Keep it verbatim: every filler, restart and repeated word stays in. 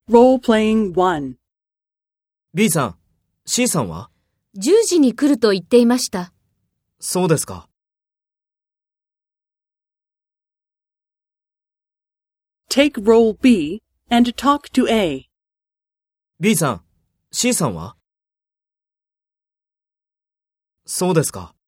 Role-playing one. B さん、C さんは？ じゅうじに来ると言っていました。 そうですか。 Take role B and talk to A. B さん、C さんは？そうですか。